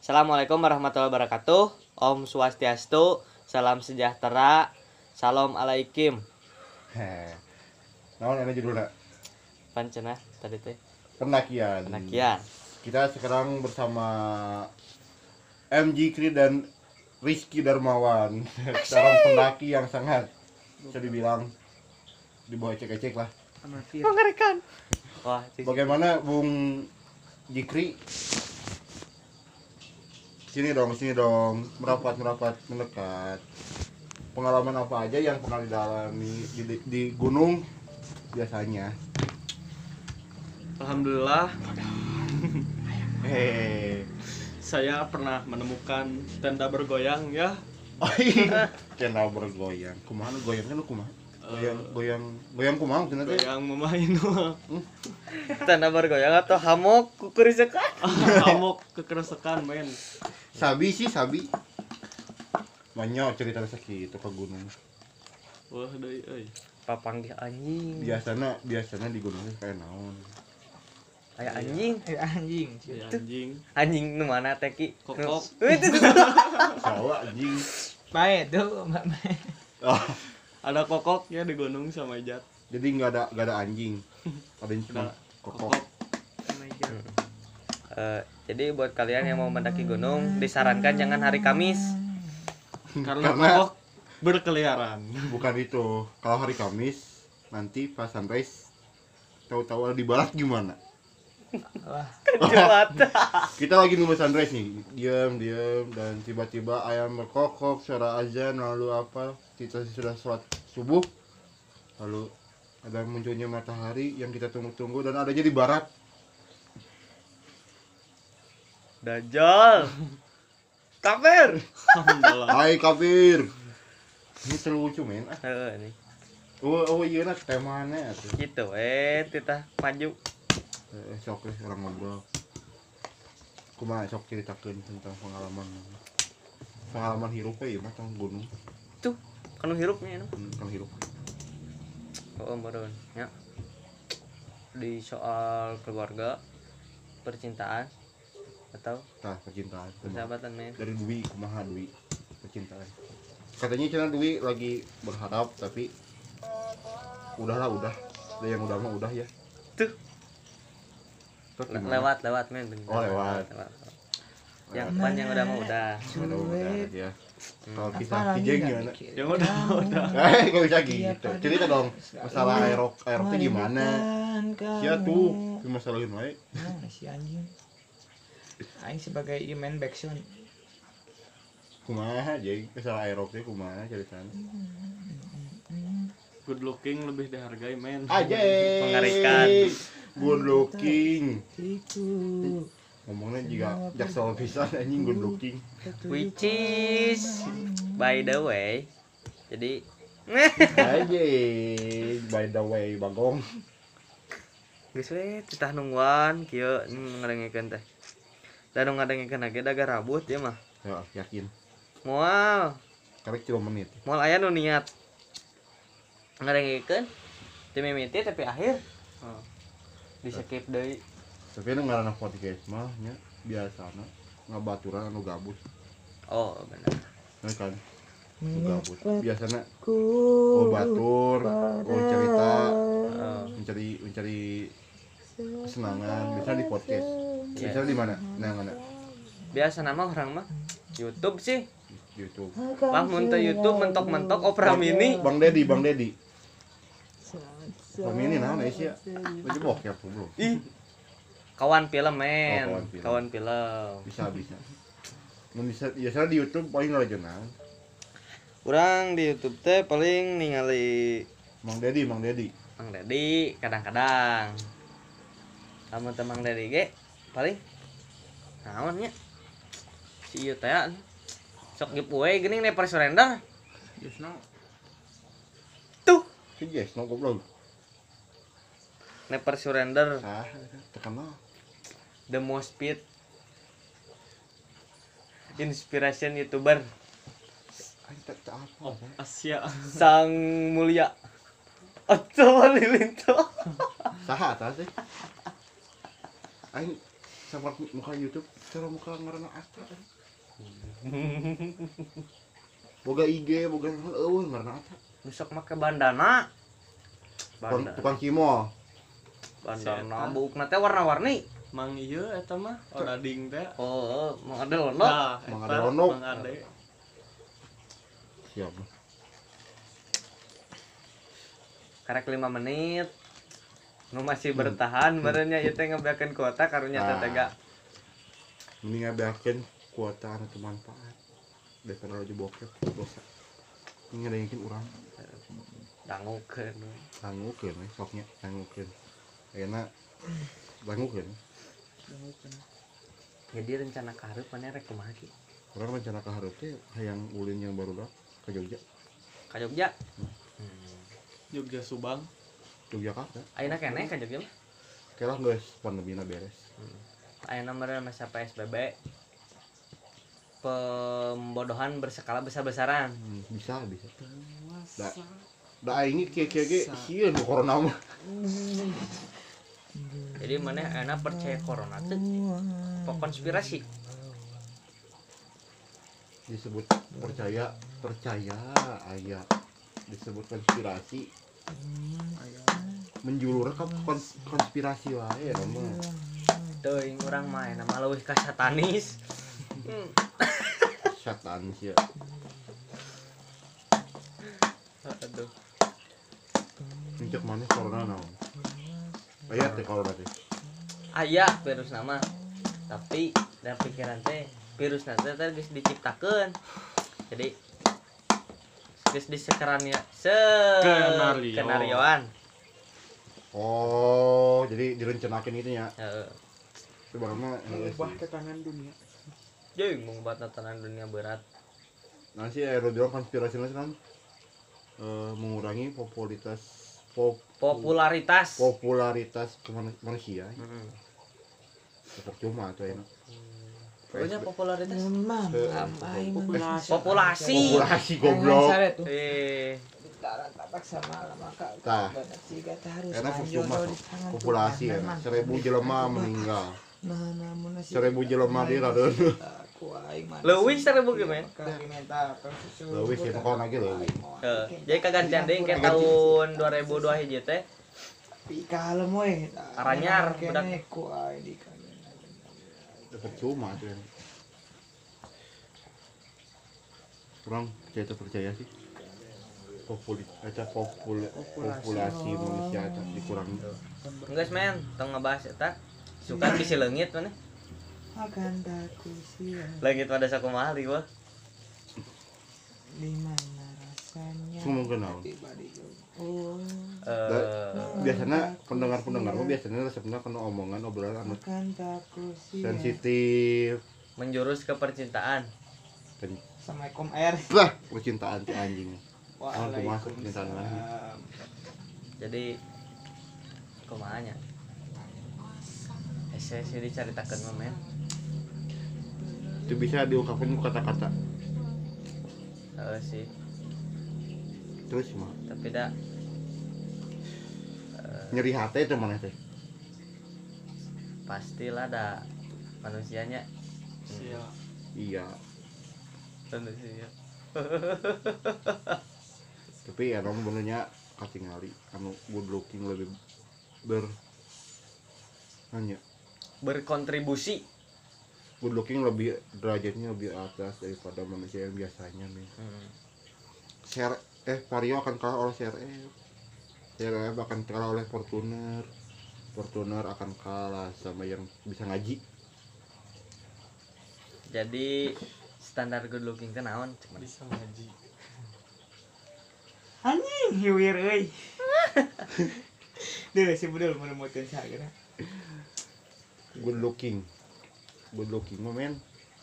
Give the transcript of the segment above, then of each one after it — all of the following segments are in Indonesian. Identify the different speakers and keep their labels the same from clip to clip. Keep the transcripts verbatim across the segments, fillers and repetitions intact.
Speaker 1: Assalamualaikum warahmatullahi wabarakatuh. Om Swastiastu, salam sejahtera, salam alaikum.
Speaker 2: Heh. Naon ini judulnya?
Speaker 1: Pancena tadi teh.
Speaker 2: Pendakian.
Speaker 1: Pendakian.
Speaker 2: Kita sekarang bersama M G Kri dan Rizky Darmawan. Seorang pendaki yang sangat bisa dibilang di bawah ecek-ecek lah.
Speaker 1: Mengerikan. Wah, cik.
Speaker 2: Bagaimana Bung Jikri? Sini dong, sini dong. Merapat, merapat, mendekat. Pengalaman apa aja yang pernah dialami di, di, di gunung biasanya?
Speaker 3: Alhamdulillah,
Speaker 2: Hehehe.
Speaker 3: saya pernah menemukan tenda bergoyang ya.
Speaker 2: Oh iya, channel bergoyang. Kumaha nu goyang kan lu kumaha? Goyang, goyang, goyang kumaha maksudnya teh?
Speaker 3: Goyang memain
Speaker 1: Tanda bergoyang atau hamok kukurisekan.
Speaker 3: amok kekeresekan men.
Speaker 2: Sabi sih, sabi. Banyak cerita sakit itu ke gunung.
Speaker 3: Wah deui euy.
Speaker 1: Papanggih anjing.
Speaker 2: Biasana, biasana di gunung teh kayak naon.
Speaker 1: Aya anjing.
Speaker 4: Eh anjing.
Speaker 3: Ya, anjing.
Speaker 1: Anjing nu mana teh ki?
Speaker 3: Kokok.
Speaker 1: Nu- Itu.
Speaker 2: Sawa anjing.
Speaker 4: Bae tuh, Mbak. Bae.
Speaker 2: Oh,
Speaker 3: Ada kokok ya di gunung sama Ijat.
Speaker 2: jadi enggak ada enggak ada anjing. Ada cuma
Speaker 3: Ada
Speaker 2: kokok.
Speaker 3: kokok.
Speaker 1: Eh, jadi buat kalian yang mau mendaki gunung disarankan jangan hari Kamis.
Speaker 3: Karena
Speaker 2: Karena-
Speaker 3: kokok berkeliaran.
Speaker 2: Bukan itu. Kalau hari Kamis nanti pas sunrise tahu-tahu ada di barat gimana?
Speaker 4: Wah,
Speaker 1: Jumat.
Speaker 2: Kita lagi nunggu sunrise nih, diam diam dan tiba-tiba ayam berkokok, suara azan, lalu apa? Kita sudah sholat subuh, lalu ada munculnya matahari yang kita tunggu-tunggu dan adanya di barat.
Speaker 1: Dajjal. Kafir.
Speaker 3: Alhamdulillah.
Speaker 2: Hai kafir, ini terlucu men. Ah,
Speaker 1: Heeh nih.
Speaker 2: oh oh iya lah temanya tuh.
Speaker 1: Gitu eh titah maju.
Speaker 2: Eh, sok deh orang ngobrol. Kumaha sok ceritakeun tentang pengalaman pengalaman hirupnya ya mah tentang gunung,
Speaker 1: Tuh, kanu hirupnya nu.
Speaker 2: hmm, tentang hirup.
Speaker 1: Oh, meureun nya. Di soal keluarga, percintaan atau
Speaker 2: Tah percintaan. kumaha?
Speaker 1: persahabatan men.
Speaker 2: Dari Dwi, kumaha Dwi percintaan. Katanya cina Dwi lagi berharap tapi udahlah udah. Ada yang udah mah udah ya.
Speaker 1: Tuh,
Speaker 2: Terus
Speaker 1: le-
Speaker 2: gimana?
Speaker 1: lewat lewat men.
Speaker 2: Oh, lewat.
Speaker 1: Yang pan yang udah mah udah.
Speaker 2: Udah udah ya. Kalau kisah
Speaker 4: apalagi
Speaker 2: kijeng
Speaker 4: nggak
Speaker 2: gimana?
Speaker 4: mikir.
Speaker 3: Ya udah, udah.
Speaker 2: Eh, kok bisa gitu? Cerita dong. Masalah aerok aeroknya gimana? Sia tuh, masalahin wae.
Speaker 4: Nah, si anjing. Aing sebagai ieu main backsound.
Speaker 2: Kumaha jeung masalah aeroknya kumaha ceritanya?
Speaker 3: Good looking lebih dihargai men.
Speaker 2: Aja.
Speaker 1: Mengerikan.
Speaker 2: Good looking.
Speaker 4: Iku.
Speaker 2: Ngomongnya juga jaksel pisan anjing good looking.
Speaker 1: Which is by the way. Jadi
Speaker 2: Aja. By the way, Bagong.
Speaker 1: geus we titah nungguan kieu ngarengikeun teh. Da nu ngarengikeun lagi daga rabut ya mah.
Speaker 2: Ya, yakin.
Speaker 1: Moal,
Speaker 2: Karek cuma menit.
Speaker 1: moal aya nu niat ngarengikeun teu mimiti tapi akhir
Speaker 3: Oh.
Speaker 1: di skip deui.
Speaker 2: Tapi nu ngaranna podcast mah nya biasana ngabaturan anu gabut.
Speaker 1: Oh, benar.
Speaker 2: Nah kan. Anu gabut. Biasana oh batur, oh cerita,
Speaker 1: Oh,
Speaker 2: mencari mencari kesenangan, biasanya di podcast.
Speaker 1: Iya.
Speaker 2: Biasanya di mana? Nah, mana?
Speaker 1: biasa nama orang mah YouTube sih.
Speaker 2: YouTube.
Speaker 1: Lah mun teu YouTube mentok-mentok Opera Mini.
Speaker 2: Bang Dedi, Bang Dedi. Bang Mini naon ya? Baju bokep bro.
Speaker 1: Ih. Kawan film men.
Speaker 2: Oh, kawan film.
Speaker 1: Kawan film.
Speaker 2: Bisa bisa. Mun bisa biasanya di YouTube paling ngalajeunang.
Speaker 1: Urang di YouTube teh paling ningali
Speaker 2: Bang Dedi, Bang Dedi.
Speaker 1: Mang Dedi kadang-kadang. Lamun teh Mang Dedi ge paling naon nya? Si ieu teh sok giveaway geuning Never Surrender.
Speaker 3: Yes, no.
Speaker 1: Tuh,
Speaker 2: Si Yes, no goblok.
Speaker 1: Never Surrender
Speaker 2: Ah, terkenal.
Speaker 1: the most fit inspiration YouTuber
Speaker 2: Aing tak tak apa.
Speaker 3: Oh, Asia.
Speaker 1: sang mulia Otto Halilintar.
Speaker 2: Saha eta sih? Aing sama muka YouTube cara muka ngaranna Ata. Boga I G, boga eueuh ngaranna Ata.
Speaker 1: Besok make bandana.
Speaker 2: Tukang,
Speaker 1: Bandana.
Speaker 2: tukang kimo.
Speaker 1: Bandana buukna teh warna-warni.
Speaker 3: Mang ieu eta mah odading teh.
Speaker 1: Oh, mau ada lono.
Speaker 3: Nah,
Speaker 2: Mang
Speaker 3: eta
Speaker 2: Ade Lono.
Speaker 3: Mang Ade.
Speaker 2: Siap.
Speaker 1: Karek lima menit. Nu masih bertahan barunya ieu teh ngabeakeun kuota karunya teh
Speaker 2: Nah.
Speaker 1: tega.
Speaker 2: Mending ngabeakeun kuota anu teu manfaat. Daripada lagi bokep dosa. Ini ngadengkeun urang.
Speaker 1: Dangukeun.
Speaker 2: Dangukeun we soknya, dangukeun. Ayeuna dangukeun.
Speaker 1: Jadi rencana kaharep mana rek kumaha ki?
Speaker 2: Urang rencana ka hareup teh hayang ulin yang barudak ka Jogja.
Speaker 1: Ka Jogja. Hmm.
Speaker 3: Jogja Subang.
Speaker 2: Yogyakarta.
Speaker 1: Ayeuna keneh ka Jogja mah.
Speaker 2: Kelah geus pandemina beres.
Speaker 1: Ayeuna meureun masa P S B B. Pembodohan berskala besar-besaran.
Speaker 2: Hmm, bisa bisa. Da da aing kieu-kieu ge sieun nu corona mah.
Speaker 1: Jadi mana ayeuna percaya corona teh pok konspirasi.
Speaker 2: Disebut percaya percaya aya disebut konspirasi menjulur ke kons- konspirasi wae ya mah.
Speaker 1: Teuing urang mah ayeuna mah leuwih ka satanis. Hmm.
Speaker 2: Setan sih ya.
Speaker 1: Aduh.
Speaker 2: Mencek mana corona naon? Aya teh corona teh.
Speaker 1: Aya virus nama. Tapi dalam pikiran teh virus nanti teh geus diciptakeun. Jadi geus disekeran ya se
Speaker 3: Skenario.
Speaker 1: skenarioan.
Speaker 2: Oh, jadi direncanakeun gitu ya.
Speaker 1: Heeh.
Speaker 2: Sebenarnya
Speaker 4: Mengubah tatanan dunia.
Speaker 1: Jeung mengubah tatanan dunia berat.
Speaker 2: nanti aerodrom konspirasi nasional eh, mengurangi popularitas pop,
Speaker 1: Popularitas.
Speaker 2: popularitas kemanu- manusia.
Speaker 1: Heeh.
Speaker 2: Percuma tuh ya.
Speaker 1: Pokoknya popularitas.
Speaker 4: Memang
Speaker 2: Eh,
Speaker 4: amai
Speaker 3: populasi.
Speaker 1: Populasi.
Speaker 2: Populasi goblok.
Speaker 1: Eh,
Speaker 4: Taran tapak sama maka
Speaker 2: Tah.
Speaker 4: banyak sih kata harus
Speaker 2: Karena
Speaker 4: anjol
Speaker 2: percuma
Speaker 4: kalau
Speaker 2: tuh.
Speaker 4: di tangan
Speaker 2: Populasi ya.
Speaker 4: Tuhan, memang.
Speaker 2: Seribu jelema meninggal.
Speaker 4: Nah, namun nasi
Speaker 2: Seribu jelema di radeun.
Speaker 4: aku aing mah
Speaker 1: Leuwih seribu gimana?
Speaker 2: Leuwih sih, pokoknya lagi leuwih.
Speaker 1: Heeh. Jadi kagantian deui ke tahun dua ribu dua hiji teh.
Speaker 4: Tapi kalem we.
Speaker 1: Aranyar,
Speaker 4: Kene
Speaker 1: budak.
Speaker 4: ku aing di kana.
Speaker 2: Percuma tuh ya. Kurang percaya tuh percaya sih. Populi, aja popul, populasi manusia aja dikurangi.
Speaker 1: Geus men, tong ngebahas eta. Suka bisi leungit mana?
Speaker 4: Akan takku sia
Speaker 1: Leungit pada sakumaha li wah.
Speaker 4: di mana rasanya.
Speaker 2: Ngomong kenal.
Speaker 4: Pribadi oh
Speaker 1: Eh,
Speaker 2: Biasanya pendengar-pendengar mah biasanya resepnya kena omongan obrolan anu
Speaker 4: akan takku sia.
Speaker 2: sensitif.
Speaker 1: menjurus ke percintaan.
Speaker 2: Pen-
Speaker 4: Assalamualaikum air.
Speaker 2: Lah, percintaan si anjing. Aku masuk percintaan lagi.
Speaker 4: Waalaikumsalam.
Speaker 1: Jadi kumahanya? Esensi dicaritakeun mah men.
Speaker 2: Itu bisa diungkapkan kata-kata.
Speaker 1: Heeh sih,
Speaker 2: Terus mah
Speaker 1: tapi dah
Speaker 2: nyeri hati itu mana teh?
Speaker 1: pastilah dah manusianya.
Speaker 3: Sia.
Speaker 2: Iya.
Speaker 1: Manusia.
Speaker 2: Tapi ya nomor benernya katingali anu good looking lebih ber hanya
Speaker 1: Berkontribusi.
Speaker 2: good looking lebih derajatnya lebih atas daripada manusia yang biasanya nih.
Speaker 1: Hmm.
Speaker 2: Share eh Vario akan kalah oleh C R F. C R F akan kalah oleh Fortuner. Fortuner akan kalah sama yang bisa ngaji.
Speaker 1: Jadi standar good looking teh naon? Cuman
Speaker 3: Bisa ngaji.
Speaker 4: Anjing hiwir euy. Duh si budal menemukan saya.
Speaker 2: Good looking. Good looking mah men.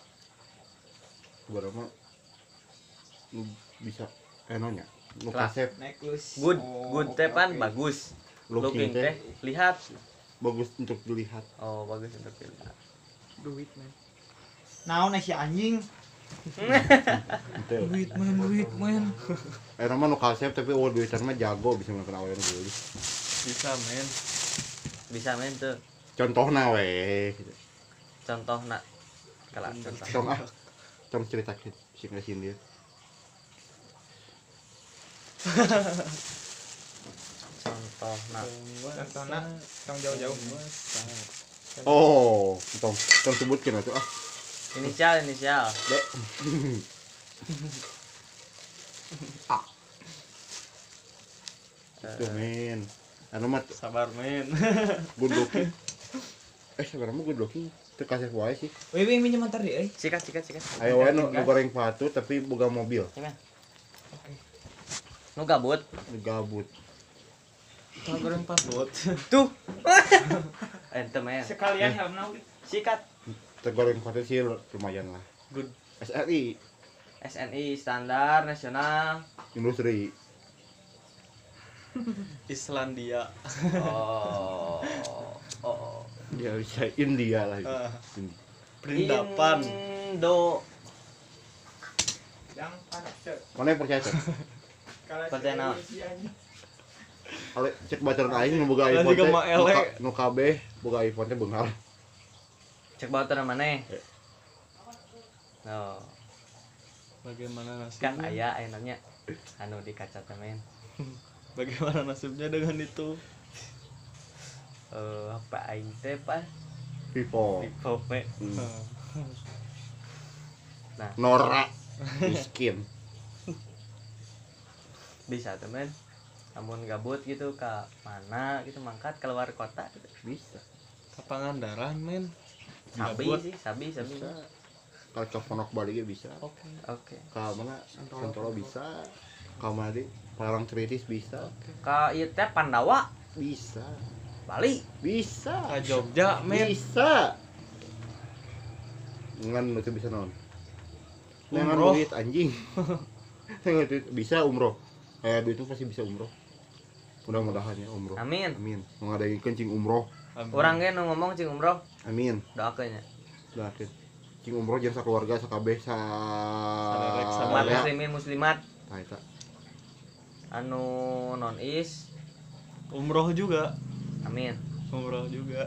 Speaker 2: Berapa nu bisa enonya. Nu
Speaker 1: Lah.
Speaker 2: kasep
Speaker 4: Necklace.
Speaker 1: good,
Speaker 4: Oh,
Speaker 1: good teh pan
Speaker 4: oke.
Speaker 1: bagus.
Speaker 2: looking
Speaker 1: Looking
Speaker 2: teh
Speaker 1: teh lihat.
Speaker 2: bagus untuk dilihat.
Speaker 1: Oh, bagus untuk dilihat.
Speaker 4: Duit man. Naon si anjing?
Speaker 2: Itu.
Speaker 4: Duit man, duit man.
Speaker 2: Eh nama nu kasep tapi oh duitan mah jago bisa makan awean dulu.
Speaker 3: Bisa men.
Speaker 1: Bisa men tuh.
Speaker 2: Contohna we.
Speaker 1: contoh nak kalau contoh
Speaker 2: Tong ah tong ceritakeun sing ngesin dia
Speaker 1: contoh nak
Speaker 4: Contohna tong jauh-jauh.
Speaker 2: oh tong tong sebutkeun atuh ah
Speaker 1: inisial inisial
Speaker 2: dek ah itu men anu mah
Speaker 3: Sabar men.
Speaker 2: good looking eh sebenarnya good looking terkasih wae sih
Speaker 4: Wih, wih, minjem motor deh, euy.
Speaker 1: sikat sikat sikat
Speaker 2: ayo wae nu nu goreng patu tapi boga mobil
Speaker 1: Gimana? Nu gabut
Speaker 2: nu gabut
Speaker 3: Tah goreng patut.
Speaker 1: tuh ente men
Speaker 4: Sekalian helmna oge.
Speaker 1: sikat
Speaker 2: tergoreng patu sih lumayan lah
Speaker 3: Good
Speaker 2: S R I
Speaker 1: S N I standar nasional
Speaker 2: industri
Speaker 3: Islandia.
Speaker 1: oh oh
Speaker 2: dia bisa India lah itu.
Speaker 3: Ah,
Speaker 2: Indi.
Speaker 3: Perindapan.
Speaker 1: Indo
Speaker 4: Yang panas.
Speaker 2: Mana yang percaya tuh?
Speaker 1: Percaya naon?
Speaker 2: Kalau cek bacaan aing nu boga
Speaker 3: Lah
Speaker 2: iPhone
Speaker 3: juga
Speaker 2: teh
Speaker 3: mah
Speaker 2: nu
Speaker 3: elek.
Speaker 2: ka- nu kabeh boga iPhone teh beunghar.
Speaker 1: cek bauter mana
Speaker 2: Eh.
Speaker 1: oh
Speaker 3: Bagaimana
Speaker 1: kan
Speaker 3: nasibnya?
Speaker 1: aya aya nanya anu di kaca temen
Speaker 3: Bagaimana nasibnya dengan itu?
Speaker 1: eh apa aing teh pas
Speaker 2: Vivo.
Speaker 1: Vivo we.
Speaker 2: Hmm.
Speaker 3: Ah,
Speaker 1: Nah,
Speaker 2: Nora miskin.
Speaker 1: bisa temen namun gabut gitu ke mana gitu mangkat keluar kota gitu.
Speaker 2: Bisa.
Speaker 3: Ke Pangandaran men.
Speaker 1: Sabi
Speaker 3: Gabut.
Speaker 1: sih, sabi sabi.
Speaker 2: Bisa. Kalau ke Ponok Bali ge bisa.
Speaker 3: Oke.
Speaker 1: Oke.
Speaker 2: Ka mana? Santolo bisa. Ka mana di Palang Tritis bisa.
Speaker 1: Ka ieu teh Pandawa,
Speaker 2: Bisa.
Speaker 1: Bali.
Speaker 2: Bisa.
Speaker 3: Ke Jogja men.
Speaker 2: Bisa. Ngan nu teu bisa naon? Ngan
Speaker 3: Umroh.
Speaker 2: duit anjing. Ngan duit bisa umroh. Eh duit itu pasti bisa umroh. Mudah-mudahan ya umroh.
Speaker 1: Amin.
Speaker 2: Amin. Mau ngadain kencing umroh.
Speaker 3: Amin.
Speaker 1: Urang ge nu ngomong cing umroh,
Speaker 2: Amin.
Speaker 1: doakeun nya.
Speaker 2: Doakeun. Cing umroh jeung sakeluarga sakabeh sa
Speaker 3: Salerek,
Speaker 1: Umat
Speaker 3: salerek.
Speaker 1: muslimin muslimat
Speaker 2: Tah eta.
Speaker 1: anu non is.
Speaker 3: Umroh juga.
Speaker 1: Amin.
Speaker 3: Umroh juga.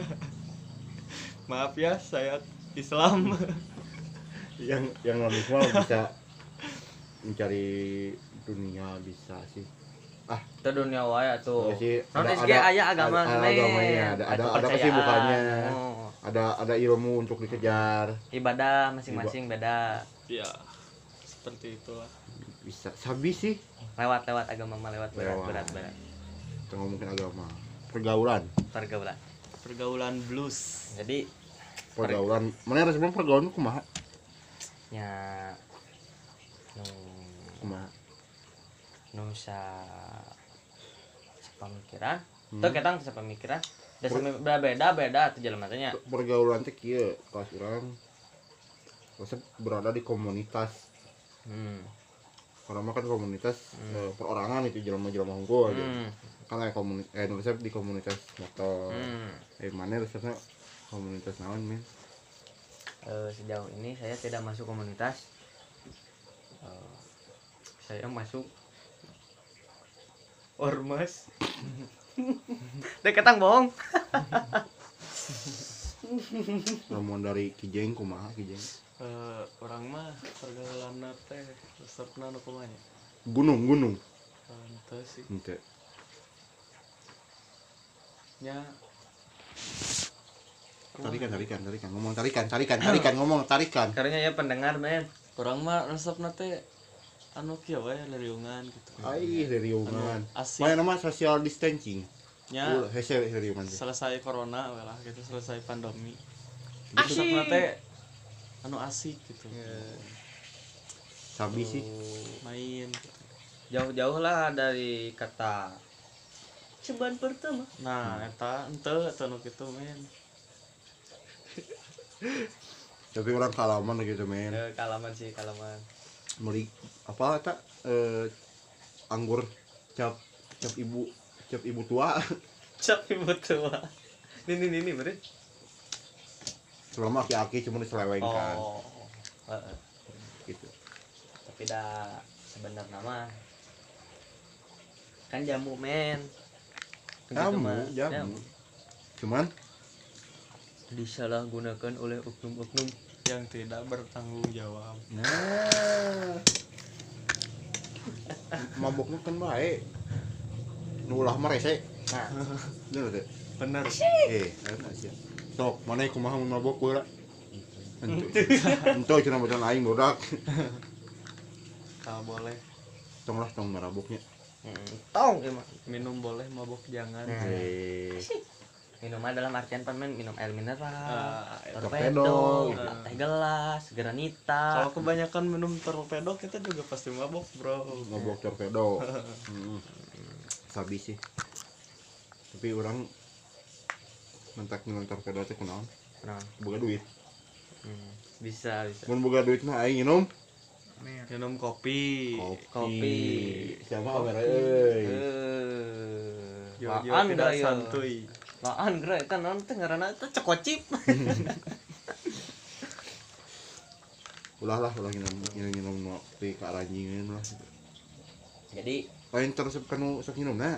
Speaker 3: Maaf ya, saya Islam.
Speaker 2: Yang yang non Islam bisa mencari dunia bisa sih.
Speaker 1: Itu dunia wae atuh.
Speaker 2: Iya sih,
Speaker 1: Non
Speaker 2: ada-
Speaker 1: is ge
Speaker 2: ada-
Speaker 1: aya agama
Speaker 2: ada- ada
Speaker 1: men.
Speaker 2: agamanya, ada- ada- ada
Speaker 1: kepercayaan.
Speaker 2: kesibukannya.
Speaker 1: Oh.
Speaker 2: Ada ada ilmu untuk dikejar.
Speaker 1: Ibadah masing-masing beda.
Speaker 3: Ya, seperti itulah.
Speaker 2: Bisa sabi sih.
Speaker 1: Lewat-lewat agama mah lewat berat
Speaker 2: Lewat.
Speaker 1: berat berat.
Speaker 2: Kita ngomongin agama. Pergaulan.
Speaker 1: Pergaulan.
Speaker 3: Pergaulan blues.
Speaker 1: Jadi
Speaker 2: Pergaulan. Mana harus bilang pergaulan kumaha?
Speaker 1: nya nu
Speaker 2: Kumaha?
Speaker 1: nu sa sapamikiran.
Speaker 2: Hmm.
Speaker 1: Tuh ketang sapamikiran. Da sami beda beda tuh jelema teh nya.
Speaker 2: Pergaulan teh kieu, kelas urang resep berada di komunitas.
Speaker 1: Hmm.
Speaker 2: Karena mah kan komunitas
Speaker 1: Hmm.
Speaker 2: eh, perorangan itu jelema-jelema unggul aja.
Speaker 1: Hmm.
Speaker 2: Kan kayak komunitas eh resep di komunitas motor.
Speaker 1: Hmm.
Speaker 2: Eh mana resepnya komunitas naon men?
Speaker 1: Eh, sejauh ini saya tidak masuk komunitas. Eh, saya masuk ormas. Dek ketang bohong.
Speaker 2: Ramuan dari Kijeng kumaha Kijeng?
Speaker 3: Eh, orang mah pergaulan teh resepna nu kumaha nya?
Speaker 2: Gunung gunung.
Speaker 3: Henteu sih.
Speaker 2: Henteu.
Speaker 3: Nya
Speaker 2: Tarikan tarikan tarikan ngomong tarikan tarikan tarikan ngomong tarikan.
Speaker 1: Karena ya pendengar men.
Speaker 3: orang mah resepna teh anu kieu wae leriungan gitu.
Speaker 2: Ai heriungan.
Speaker 3: Anu asik.
Speaker 2: Mana nama social distancing.
Speaker 3: Nya
Speaker 2: Uh, hese heriungan teh.
Speaker 3: selesai corona we lah gitu, selesai pandemi.
Speaker 1: Asik.
Speaker 3: Resepna teh anu asik gitu.
Speaker 2: Sabi sih.
Speaker 3: Main gitu.
Speaker 1: Jauh-jauh lah dari kata ceban pertama.
Speaker 3: Nah, eta henteu eta nu kitu men.
Speaker 2: Tapi orang kalaman gitu men.
Speaker 1: Eh, kalaman sih kalaman.
Speaker 2: Meli apa eta eh anggur cap cap ibu cap ibu tua.
Speaker 1: Cap ibu tua. Ini ini ini beri.
Speaker 2: Selama aki-aki cuma diselewengkan
Speaker 1: Oh. Heeh.
Speaker 2: gitu.
Speaker 1: Tapi dah sebenarnya mah kan jamu men. Begitu
Speaker 2: Jamu,
Speaker 1: mah.
Speaker 2: jamu. Cuman
Speaker 1: disalahgunakan oleh oknum-oknum.
Speaker 3: yang tidak bertanggung jawab.
Speaker 2: Nah, maboknya kan baik. Nu ulah mah rese.
Speaker 1: Nah,
Speaker 2: Bener teh.
Speaker 3: Bener.
Speaker 2: Eh, enak sih. Sok, mana kumaha mun mabok baheula? Ento. Ento cenah bacaan aing bodak.
Speaker 3: Kalau boleh
Speaker 2: Tong lah tong maraboknya.
Speaker 1: hmm, tong emang.
Speaker 3: minum boleh, mabok jangan.
Speaker 1: Nah.
Speaker 2: Eh,
Speaker 1: Minum dalam artian permen, minum air mineral,
Speaker 3: Ah,
Speaker 1: torpedo,
Speaker 2: torpedo.
Speaker 1: teh gelas, granita.
Speaker 3: Kalau kebanyakan minum torpedo kita juga pasti mabok, bro.
Speaker 2: mabok torpedo. Heeh. Sabi sih. Tapi orang mentak minum torpedo teh kunaon?
Speaker 1: Nah,
Speaker 2: Boga duit.
Speaker 1: hmm, bisa bisa.
Speaker 2: Mun boga duit mah aing nginum
Speaker 3: Minum kopi.
Speaker 1: Kopi.
Speaker 2: Siapa kamera euy?
Speaker 1: Eh,
Speaker 3: Yo, yo,
Speaker 1: laan
Speaker 3: tidak
Speaker 1: geura, yo.
Speaker 3: santuy.
Speaker 1: Laan geura eta naon teh ngaranna teh cekocip.
Speaker 2: Ulah lah ulah nginum nginum nginum ngopi ka ranjingeun lah.
Speaker 1: Jadi
Speaker 2: Lain teresep kanu sok nginumna.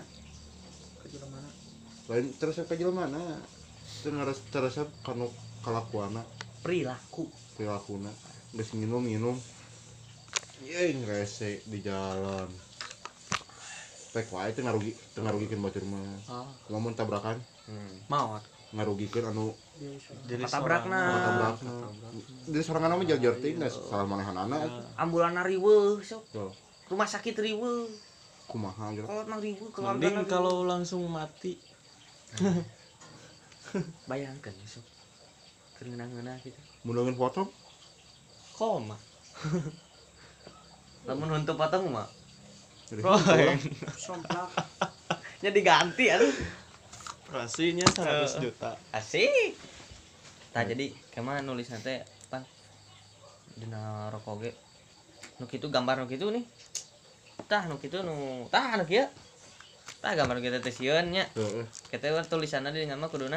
Speaker 2: Lain teresep ka jelema. Teu ngares teresep kanu kalakuanna,
Speaker 1: perilaku.
Speaker 2: perilakunna. Geus nginum nginum. Yeing rese di jalan. Pek wae teu ngarugi, teu ngarugikeun batur mah.
Speaker 1: Oh.
Speaker 2: Lamun tabrakan
Speaker 1: Hmm. Maot.
Speaker 2: ngarugikeun anu
Speaker 3: Jadi
Speaker 1: Patabrakna.
Speaker 3: seorang-
Speaker 2: tabrakna. Jadi sorangan mah jauh-jauh teh geus salah manehanana.
Speaker 1: Ambulan riweuh sok.
Speaker 2: Tuh,
Speaker 1: Rumah sakit riweuh.
Speaker 2: kumaha gitu.
Speaker 1: Kolot nang riweuh keluarga.
Speaker 3: Mending kalau langsung mati.
Speaker 1: bayangkeun sok. Keur ngeunah-ngeunah gitu.
Speaker 2: Mundangan potong
Speaker 1: Koma. Lamun huntu potong mah
Speaker 2: jadi
Speaker 3: Roy.
Speaker 1: nya diganti atuh.
Speaker 3: Operasinya seratus juta.
Speaker 1: Asik. Tah jadi kemana nulisna teh pan dina rokok ge. Nu kitu gambar nu kitu nih. Tah nu kitu nu tah nu kieu. Tah gambar nu kitu teh sieun nya.
Speaker 2: Heeh.
Speaker 1: Kita mah tulisanna di mah kuduna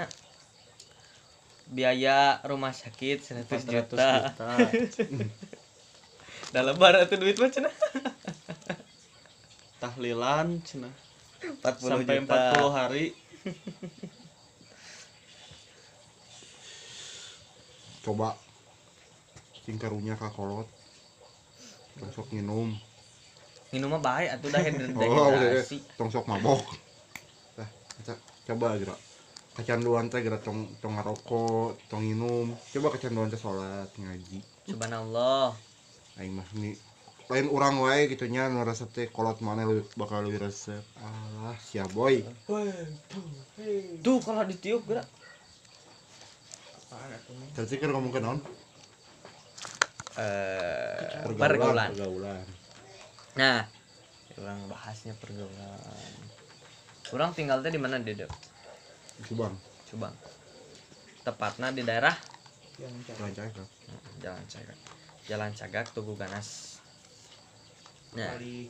Speaker 1: biaya rumah sakit seratus
Speaker 3: empat ratus
Speaker 1: juta.
Speaker 3: juta.
Speaker 1: Da lebar atuh duit mah cenah.
Speaker 3: Tahlilan cenah.
Speaker 1: empat puluh
Speaker 3: Sampai
Speaker 1: juta.
Speaker 3: empat puluh hari.
Speaker 2: Coba cing karunya ka kolot. Tong sok nginum.
Speaker 1: Minum mah bae atuh dah
Speaker 2: Oh, udah.
Speaker 1: dehidrasi.
Speaker 2: Tong sok mabok. Tah, ca- coba geura. Kecanduan teh geura tong tong ngarokok, tong nginum. Coba kecanduan teh salat, ngaji.
Speaker 1: Subhanallah.
Speaker 2: Aing mah ni lain urang wae gitu nya nu resep teh kolot mana lu bakal lebih resep. Alah, sia boy.
Speaker 1: Tuh kalau ditiup geura.
Speaker 2: Tadi kan ngomong ke naon?
Speaker 1: Eh pergaulan.
Speaker 2: Pergaulan.
Speaker 1: Nah, orang bahasnya pergaulan. Orang tinggal teh di mana Dedek?
Speaker 2: Subang.
Speaker 1: Subang. Tepatnya di daerah
Speaker 2: Lancar kan?
Speaker 1: Jalan Cagak. Jalan Cagak Tugu Ganas. Nah, eh,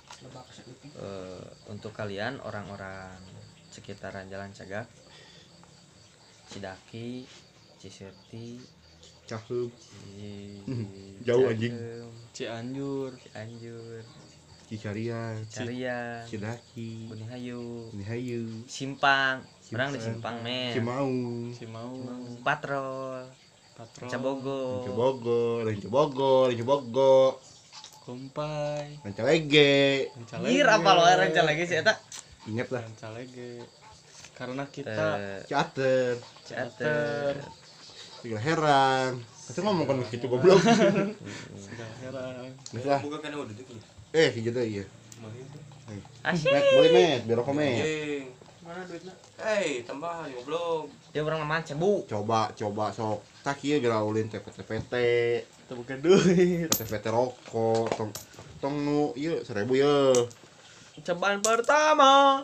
Speaker 1: untuk kalian orang-orang sekitaran Jalan Cagak, Cidaki, Cisirti,
Speaker 2: Cakep.
Speaker 1: Ci-
Speaker 2: Jauh, anjing.
Speaker 1: Cakem,
Speaker 3: Cianjur.
Speaker 1: Cianjur,
Speaker 2: Cicarian,
Speaker 1: Carian,
Speaker 2: Cidaki,
Speaker 1: Bunihayu,
Speaker 2: ini hayu,
Speaker 1: Simpang, orang di
Speaker 2: Simpang.
Speaker 1: Simpang men.
Speaker 2: Cimau,
Speaker 3: Cimau.
Speaker 1: Patrol,
Speaker 3: Patrol.
Speaker 1: Cabogo,
Speaker 2: Bogor, Ranca Bogor, Ranca Bogor,
Speaker 3: Kumpai.
Speaker 2: Ranca Lege.
Speaker 3: Rancalege.
Speaker 1: Gir apa lo rencana lagi sih eta?
Speaker 2: Ingat lah,
Speaker 3: Rancalege. Karena kita
Speaker 1: Eh,
Speaker 2: Cater,
Speaker 1: Cater.
Speaker 2: Tiga Herang. Kita ngomong kan gitu goblok.
Speaker 3: sudah heran.
Speaker 2: Geus lah.
Speaker 5: Bukan kan udah dulu.
Speaker 2: Eh, gitu iya.
Speaker 1: Asik.
Speaker 2: Met, boleh met, biar rokok met.
Speaker 5: Anjing.
Speaker 3: Mana duitnya?
Speaker 5: Hei, tambahan goblok.
Speaker 1: Dia orang nama cebu.
Speaker 2: Coba, coba sok. Tak ieu geura ulin teh P T P T,
Speaker 3: Kita bukan duit.
Speaker 2: P T P T rokok, tong tong nu ieu seribu ieu.
Speaker 1: Cobaan pertama.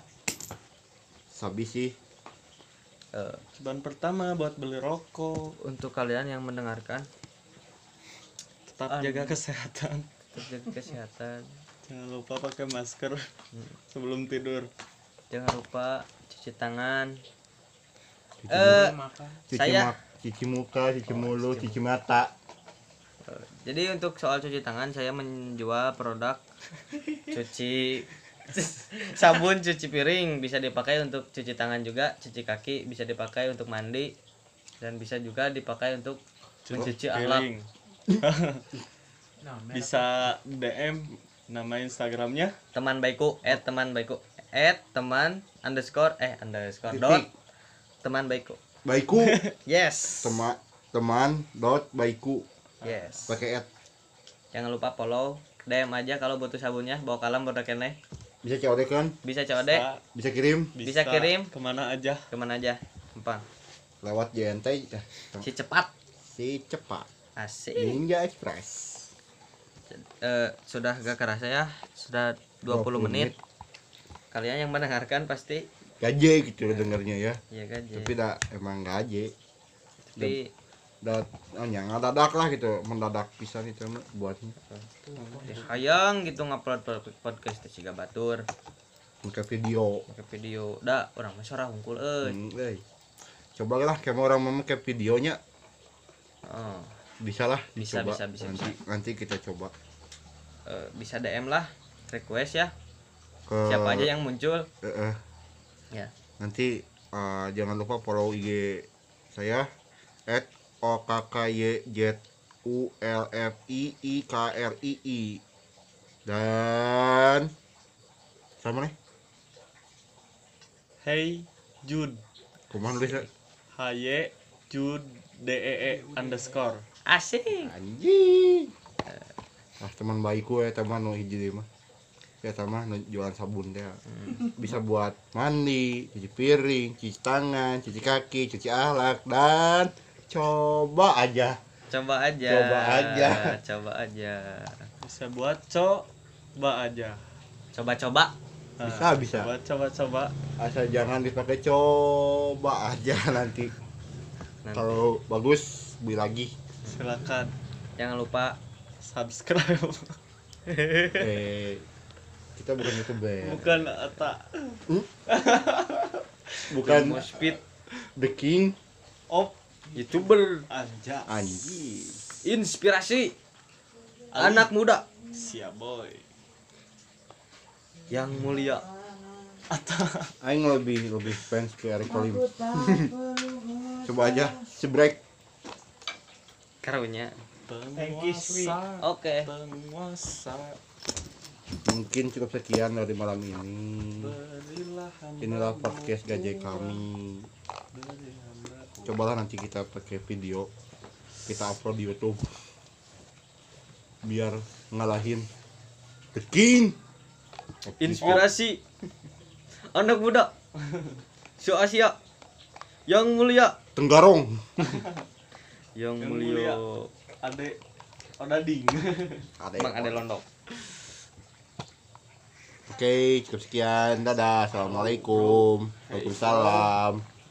Speaker 2: Sabi sih.
Speaker 1: Eh,
Speaker 3: Cobaan pertama buat beli rokok.
Speaker 1: untuk kalian yang mendengarkan,
Speaker 3: Tetap
Speaker 1: Anu.
Speaker 3: jaga kesehatan.
Speaker 1: tetap jaga kesehatan.
Speaker 3: Jangan lupa pakai masker sebelum tidur.
Speaker 1: Jangan lupa cuci tangan.
Speaker 2: Cuci
Speaker 1: Eh,
Speaker 2: cuci
Speaker 1: saya-
Speaker 2: mak- cuci muka, cuci mulut, cuci mata.
Speaker 1: eh, jadi untuk soal cuci tangan saya menjual produk cuci sabun cuci piring bisa dipakai untuk cuci tangan juga, cuci kaki bisa dipakai untuk mandi. dan bisa juga dipakai untuk
Speaker 3: Cukup
Speaker 1: mencuci ahlak.
Speaker 3: piring.
Speaker 4: Nah, merek
Speaker 3: Bisa D M nama Instagramnya
Speaker 1: Teman baikku at teman baikku at teman underscore eh underscore
Speaker 2: Titik.
Speaker 1: dot teman baikku.
Speaker 2: Baiku
Speaker 1: Yes.
Speaker 2: teman teman dot baiku
Speaker 1: Yes.
Speaker 2: pakai at.
Speaker 1: Jangan lupa follow, D M aja kalau butuh sabunnya, bawa kalam buat kene.
Speaker 2: Bisa C O D kan,
Speaker 1: Bisa C O D,
Speaker 3: Bisa-
Speaker 2: bisa kirim
Speaker 1: Bisa kirim.
Speaker 3: kemana aja.
Speaker 1: kemana aja. Gampang.
Speaker 2: lewat J N T ya.
Speaker 1: Si cepat.
Speaker 2: Si cepat
Speaker 1: Asik.
Speaker 2: Ninja Express.
Speaker 1: Eh, sudah gak kerasa ya, sudah dua puluh menit. Kalian yang mendengarkan pasti
Speaker 2: Gaje gitu loh dengernya ya.
Speaker 1: iya kan.
Speaker 2: Tapi dah emang gaje.
Speaker 1: Tapi
Speaker 2: Dat oh yang dadak lah gitu, mendadak pisan itu mah buatnya.
Speaker 1: hayang gitu ngupload pod- podcast teh siga batur,
Speaker 2: Ke video.
Speaker 1: ke video. Da, orang mah sorah hungkul euy.
Speaker 2: Hmm, euy. Coba lah kayak orang mau ke videonya
Speaker 1: Oh,
Speaker 2: bisa lah
Speaker 1: Bisa,
Speaker 2: dicoba.
Speaker 1: bisa, bisa,
Speaker 2: nanti, nanti kita coba
Speaker 1: eh, bisa D M lah, request ya.
Speaker 2: ke
Speaker 1: Siapa aja yang muncul.
Speaker 2: eh, eh.
Speaker 1: Ya.
Speaker 2: Nanti eh, jangan lupa follow I G saya at o k k y z u l f i i k r i i dan sama nih
Speaker 3: Hey Jude
Speaker 2: kumaha nulisnya
Speaker 3: H Y Jude D E E underscore.
Speaker 1: Asik.
Speaker 2: anjing ah teman baikku ya teman nu hiji deui mah ya sama nu jualan sabun teh bisa buat mandi, cuci piring, cuci tangan, cuci kaki, cuci ahlak dan coba aja
Speaker 1: Coba aja.
Speaker 2: Coba aja.
Speaker 1: Coba aja.
Speaker 3: Bisa buat coba aja.
Speaker 1: Coba-coba.
Speaker 3: Nah,
Speaker 2: Bisa, bisa.
Speaker 3: Coba coba coba.
Speaker 2: asal jangan dipakai coba aja nanti
Speaker 1: Nanti.
Speaker 2: kalau bagus beli lagi
Speaker 3: Silakan
Speaker 1: Jangan lupa
Speaker 3: subscribe.
Speaker 2: eh kita bukan youtuber
Speaker 3: Bukan Ata.
Speaker 2: bukan
Speaker 1: Moshpit
Speaker 2: the king
Speaker 3: Op
Speaker 1: YouTuber
Speaker 3: Anja.
Speaker 2: anjing
Speaker 1: inspirasi anak muda
Speaker 3: Siap boy.
Speaker 1: yang mulia.
Speaker 2: aing lebih lebih fans ke Eric Colim coba aja sebrek
Speaker 1: Karunya.
Speaker 3: Penguasa.
Speaker 1: Oke.
Speaker 3: Penguasa.
Speaker 2: mungkin cukup sekian dari malam ini
Speaker 3: Berilah hamba.
Speaker 2: inilah podcast gajah kami
Speaker 3: Beri hamba.
Speaker 2: cobalah nanti kita pakai video kita upload di YouTube biar ngalahin the king
Speaker 1: Inspirasi anak muda. Sio Asia yang mulia.
Speaker 2: Tenggarong
Speaker 1: Yang,
Speaker 3: Yang
Speaker 1: mulia.
Speaker 3: mulia. Ade Odading.
Speaker 2: ada
Speaker 1: Bang ada londok.
Speaker 2: oke cukup sekian dadah assalamualaikum waalaikumsalam